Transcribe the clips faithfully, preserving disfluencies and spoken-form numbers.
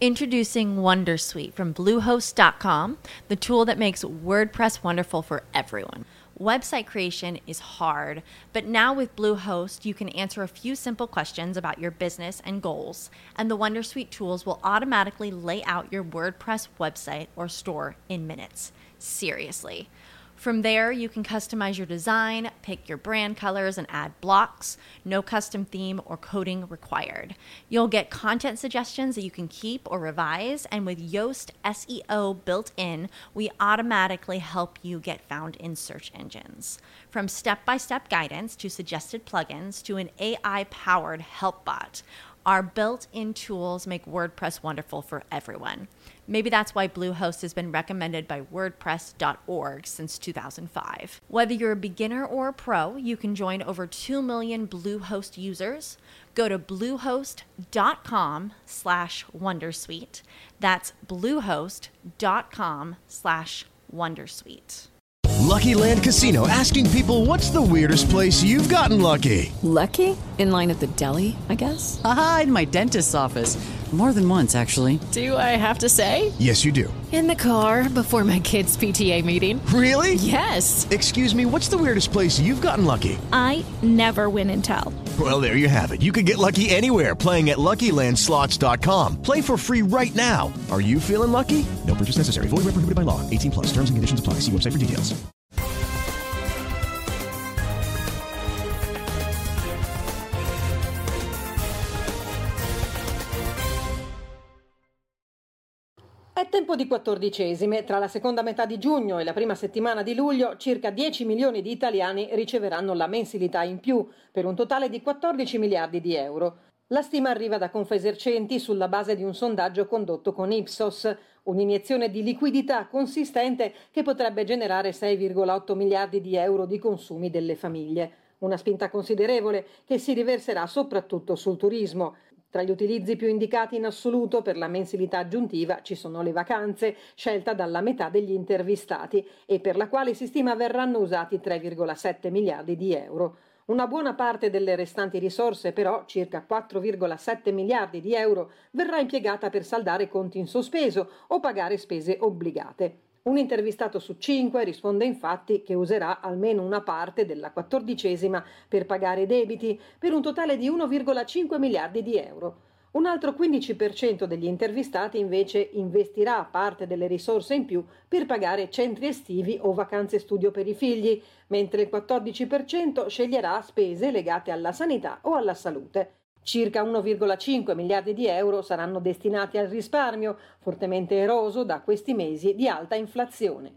Introducing Wondersuite from Bluehost dot com, the tool that makes WordPress wonderful for everyone. Website creation is hard, but now with Bluehost, you can answer a few simple questions about your business and goals, and the Wondersuite tools will automatically lay out your WordPress website or store in minutes. Seriously. From there, you can customize your design, pick your brand colors, and add blocks. No custom theme or coding required. You'll get content suggestions that you can keep or revise, and with Yoast S E O built in, we automatically help you get found in search engines. From step-by-step guidance to suggested plugins to an A I-powered help bot, our built-in tools make WordPress wonderful for everyone. Maybe that's why Bluehost has been recommended by WordPress dot org since two thousand five. Whether you're a beginner or a pro, you can join over two million Bluehost users. Go to bluehost dot com slash wondersuite. That's bluehost dot com slash wondersuite. Lucky Land Casino, asking people, what's the weirdest place you've gotten lucky? Lucky? In line at the deli, I guess? Aha, in my dentist's office. More than once, actually. Do I have to say? Yes, you do. In the car before my kids' P T A meeting. Really? Yes. Excuse me, what's the weirdest place you've gotten lucky? I never win and tell. Well, there you have it. You can get lucky anywhere, playing at Lucky Land Slots dot com. Play for free right now. Are you feeling lucky? No purchase necessary. Void where prohibited by law. eighteen plus. Terms and conditions apply. See website for details. È tempo di quattordicesime. Tra la seconda metà di giugno e la prima settimana di luglio, circa dieci milioni di italiani riceveranno la mensilità in più, per un totale di quattordici miliardi di euro. La stima arriva da Confesercenti sulla base di un sondaggio condotto con Ipsos, un'iniezione di liquidità consistente che potrebbe generare sei virgola otto miliardi di euro di consumi delle famiglie. Una spinta considerevole che si riverserà soprattutto sul turismo. Tra gli utilizzi più indicati in assoluto per la mensilità aggiuntiva ci sono le vacanze, scelta dalla metà degli intervistati e per la quale si stima verranno usati tre virgola sette miliardi di euro. Una buona parte delle restanti risorse, però, circa quattro virgola sette miliardi di euro, verrà impiegata per saldare conti in sospeso o pagare spese obbligate. Un intervistato su cinque risponde infatti che userà almeno una parte della quattordicesima per pagare i debiti, per un totale di uno virgola cinque miliardi di euro. Un altro quindici per cento degli intervistati invece investirà parte delle risorse in più per pagare centri estivi o vacanze studio per i figli, mentre il quattordici per cento sceglierà spese legate alla sanità o alla salute. Circa uno virgola cinque miliardi di euro saranno destinati al risparmio, fortemente eroso da questi mesi di alta inflazione.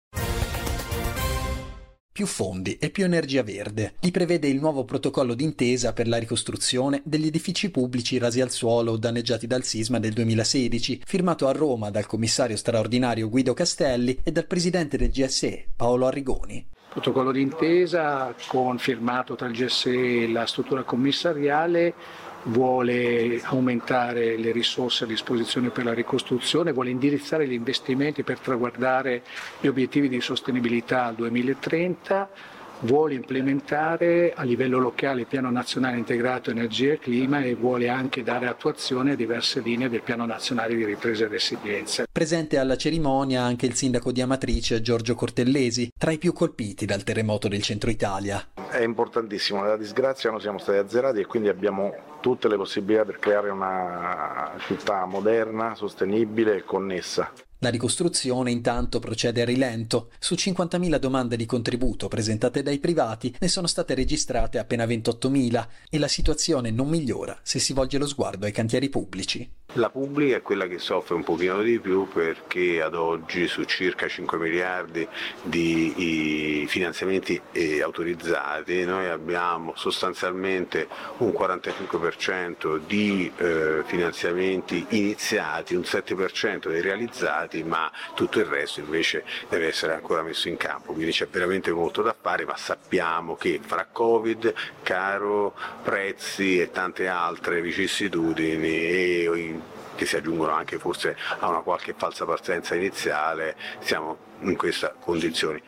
Più fondi e più energia verde. Li prevede il nuovo protocollo d'intesa per la ricostruzione degli edifici pubblici rasi al suolo o danneggiati dal sisma del duemilasedici, firmato a Roma dal commissario straordinario Guido Castelli e dal presidente del G S E, Paolo Arrigoni. Protocollo d'intesa con firmato tra il G S E e la struttura commissariale vuole aumentare le risorse a disposizione per la ricostruzione, vuole indirizzare gli investimenti per traguardare gli obiettivi di sostenibilità al duemilatrenta, vuole implementare a livello locale il Piano Nazionale Integrato Energia e Clima e vuole anche dare attuazione a diverse linee del Piano Nazionale di Ripresa e Resilienza. Presente alla cerimonia anche il sindaco di Amatrice, Giorgio Cortellesi, tra i più colpiti dal terremoto del centro Italia. È importantissimo, nella disgrazia noi siamo stati azzerati e quindi abbiamo tutte le possibilità per creare una città moderna, sostenibile e connessa. La ricostruzione intanto procede a rilento. Su cinquantamila domande di contributo presentate dai privati ne sono state registrate appena ventottomila e la situazione non migliora se si volge lo sguardo ai cantieri pubblici. La pubblica è quella che soffre un pochino di più perché ad oggi su circa cinque miliardi di finanziamenti autorizzati noi abbiamo sostanzialmente un quarantacinque per cento di eh, finanziamenti iniziati, un sette per cento dei realizzati, ma tutto il resto invece deve essere ancora messo in campo, quindi c'è veramente molto da fare, ma sappiamo che fra Covid, caro prezzi e tante altre vicissitudini e che si aggiungono anche forse a una qualche falsa partenza iniziale, siamo in queste condizioni.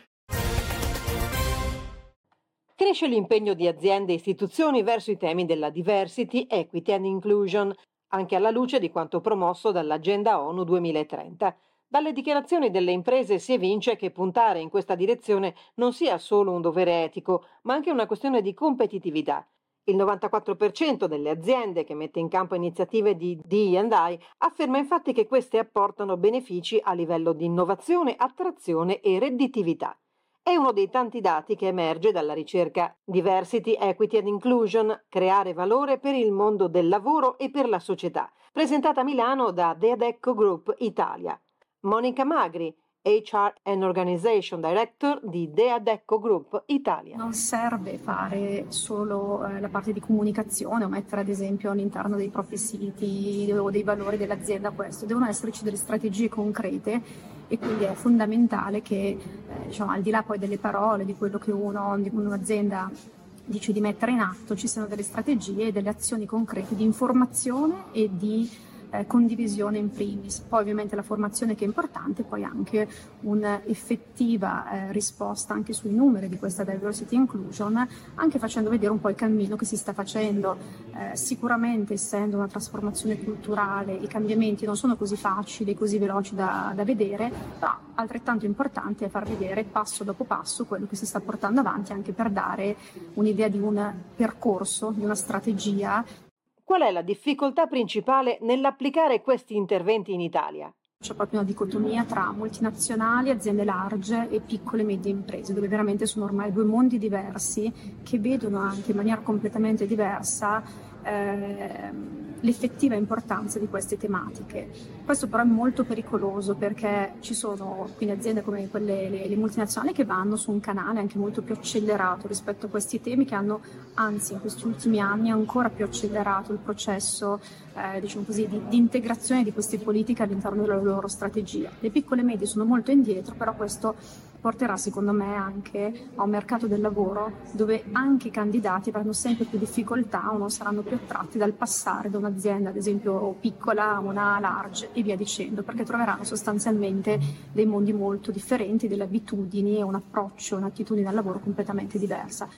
Cresce l'impegno di aziende e istituzioni verso i temi della diversity, equity and inclusion. anche alla luce di quanto promosso dall'Agenda ONU duemilatrenta. Dalle dichiarazioni delle imprese si evince che puntare in questa direzione non sia solo un dovere etico, ma anche una questione di competitività. Il novantaquattro per cento delle aziende che mette in campo iniziative di D and I afferma infatti che queste apportano benefici a livello di innovazione, attrazione e redditività. È uno dei tanti dati che emerge dalla ricerca Diversity, Equity and Inclusion, creare valore per il mondo del lavoro e per la società, presentata a Milano da The Adecco Group Italia. Monica Magri, H R and Organization Director di The Adecco Group Italia. Non serve fare solo eh, la parte di comunicazione o mettere ad esempio all'interno dei propri siti o dei valori dell'azienda questo, devono esserci delle strategie concrete e quindi è fondamentale che eh, diciamo, al di là poi delle parole, di quello che uno, di un'azienda dice di mettere in atto, ci siano delle strategie e delle azioni concrete di informazione e di Eh, condivisione in primis, poi ovviamente la formazione che è importante, poi anche un'effettiva eh, risposta anche sui numeri di questa diversity inclusion, anche facendo vedere un po' il cammino che si sta facendo. Eh, sicuramente essendo una trasformazione culturale i cambiamenti non sono così facili, così veloci da, da vedere, però altrettanto importante è far vedere passo dopo passo quello che si sta portando avanti, anche per dare un'idea di un percorso, di una strategia. Qual è la difficoltà principale nell'applicare questi interventi in Italia? C'è proprio una dicotomia tra multinazionali, aziende large e piccole e medie imprese, dove veramente sono ormai due mondi diversi che vedono anche in maniera completamente diversa eh, l'effettiva importanza di queste tematiche. Questo però è molto pericoloso perché ci sono quindi aziende come quelle le, le multinazionali che vanno su un canale anche molto più accelerato rispetto a questi temi, che hanno anzi in questi ultimi anni ancora più accelerato il processo eh, diciamo così, di, di integrazione di queste politiche all'interno della loro strategia. Le piccole e medie sono molto indietro, però questo porterà secondo me anche a un mercato del lavoro dove anche i candidati avranno sempre più difficoltà o non saranno più attratti dal passare da un'azienda ad esempio piccola a una large e via dicendo, perché troveranno sostanzialmente dei mondi molto differenti, delle abitudini e un approccio, un'attitudine al lavoro completamente diversa.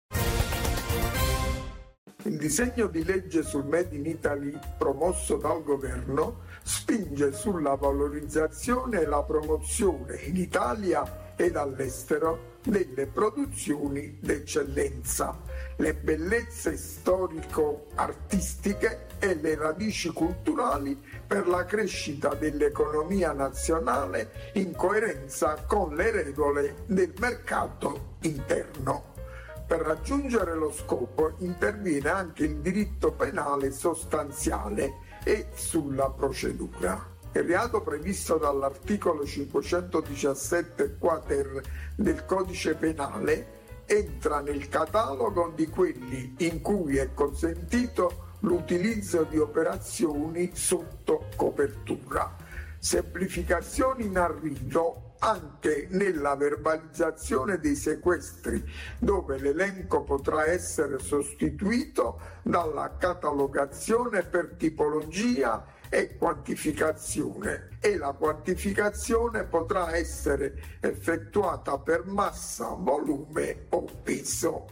Il disegno di legge sul Made in Italy promosso dal governo spinge sulla valorizzazione e la promozione in Italia ed all'estero delle produzioni d'eccellenza, le bellezze storico-artistiche e le radici culturali per la crescita dell'economia nazionale in coerenza con le regole del mercato interno. Per raggiungere lo scopo interviene anche il diritto penale sostanziale e sulla procedura. Il reato previsto dall'articolo cinquecentodiciassette quater del Codice Penale entra nel catalogo di quelli in cui è consentito l'utilizzo di operazioni sotto copertura. Semplificazioni in arrivo anche nella verbalizzazione dei sequestri, dove l'elenco potrà essere sostituito dalla catalogazione per tipologia e quantificazione, e la quantificazione potrà essere effettuata per massa, volume o peso.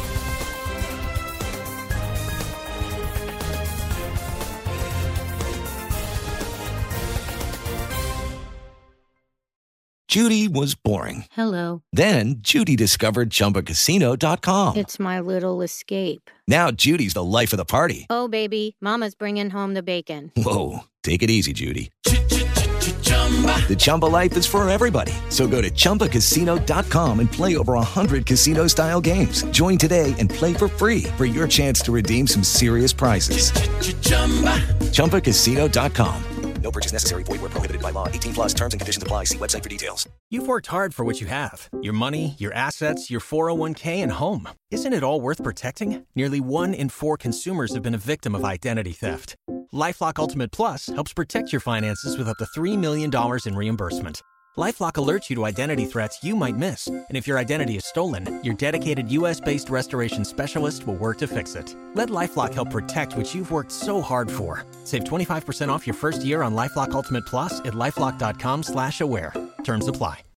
Judy was boring. Hello. Then Judy discovered Chumba Casino dot com. It's my little escape. Now Judy's the life of the party. Oh, baby, mama's bringing home the bacon. Whoa, take it easy, Judy. The Chumba life is for everybody. So go to Chumba Casino dot com and play over one hundred casino-style games. Join today and play for free for your chance to redeem some serious prizes. Chumba Casino dot com. No purchase necessary. Void where prohibited by law. eighteen plus terms and conditions apply. See website for details. You've worked hard for what you have. Your money, your assets, your four oh one k, and home. Isn't it all worth protecting? Nearly one in four consumers have been a victim of identity theft. LifeLock Ultimate Plus helps protect your finances with up to three million dollars in reimbursement. LifeLock alerts you to identity threats you might miss. And if your identity is stolen, your dedicated U S-based restoration specialist will work to fix it. Let LifeLock help protect what you've worked so hard for. Save twenty-five percent off your first year on LifeLock Ultimate Plus at LifeLock dot com slash aware. Terms apply.